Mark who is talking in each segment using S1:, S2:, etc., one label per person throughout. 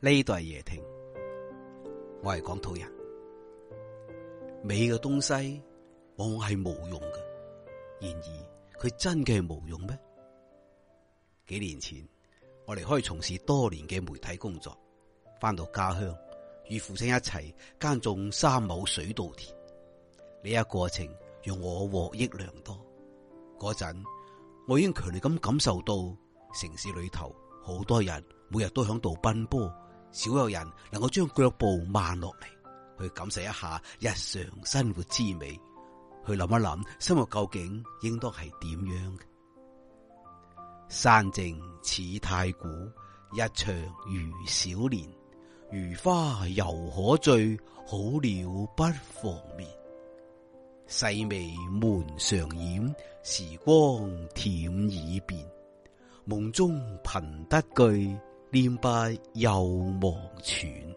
S1: 呢度係夜聽，我係廣土人。美嘅東西往往係無用嘅，然而佢真嘅係無用咩？幾年前我離開從事多年嘅媒體工作，翻到家鄉與父親一齊耕種3畝水稻田。呢一個過程讓我獲益良多。嗰陣我已經強烈咁感受到城市裏頭好多人每日都響度奔波，少有人能夠將腳步慢落嚟，去感受一下日常生活滋味，去諗一諗生活究竟應當係點樣嘅。山靜似太古，日長如小年。如花猶可醉，好鳥不妨眠。細微門常掩，時光舔耳邊。夢中憑得句，念不又忘喘。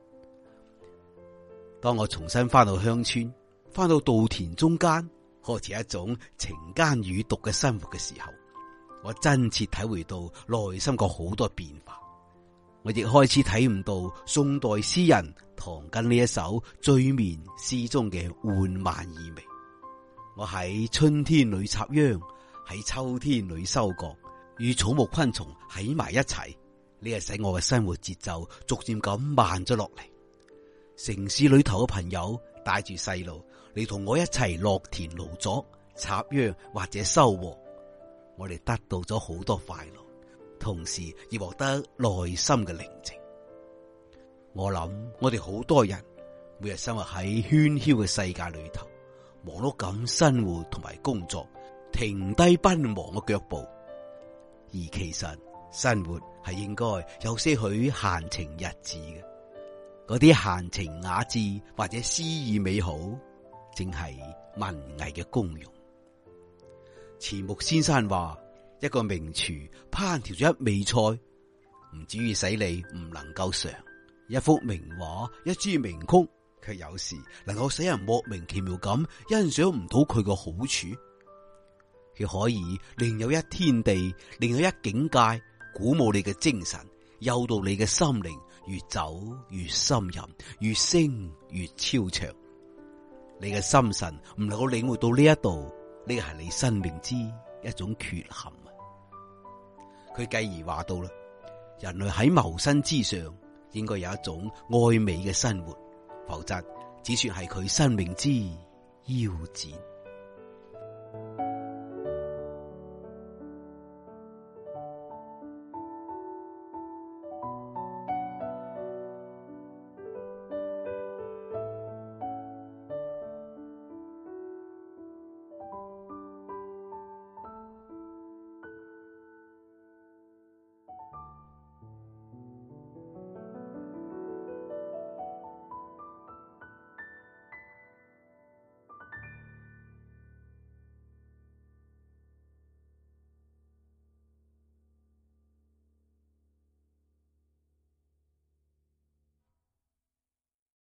S1: 當我重新翻到鄉村，翻到稻田中間，開始一種情耕予讀嘅生活嘅時候，我真切體會到內心個好多變化。我亦開始體悟到宋代詩人唐根呢一首醉眠詩中嘅緩慢意味。我喺春天裏插秧，喺秋天裏收割，與草木昆蟲喺埋一齊，呢係使我嘅生活節奏逐漸咁慢咗落嚟。城市裏頭嘅朋友帶住細路嚟同我一齊落田勞作、插秧或者收穫，我哋得到咗好多快樂，同時亦獲得內心嘅寧靜。我諗我哋好多人每日生活喺喧囂嘅世界裏頭，忙碌咁生活同埋工作，停低奔忙嘅腳步，而其實生活係應該有些許閒情逸致嘅。嗰啲閒情雅致或者詩意美好，正係文藝嘅功用。錢穆先生話，一個名廚烹調咗一味菜，唔至於使你唔能夠嘗；一幅名畫、一支名曲，卻有時能夠使人莫名其妙咁欣賞唔到佢嘅好處。佢可以另有一天地，另有一境界，鼓舞你嘅精神，誘導你嘅心靈，越走越深入，越升越超長。你嘅心神唔能夠領會到呢一度，呢個係你生命之一種缺陷。佢繼而話到啦，人類喺謀生之上應該有一種愛美嘅生活，否則只算係佢生命之夭折。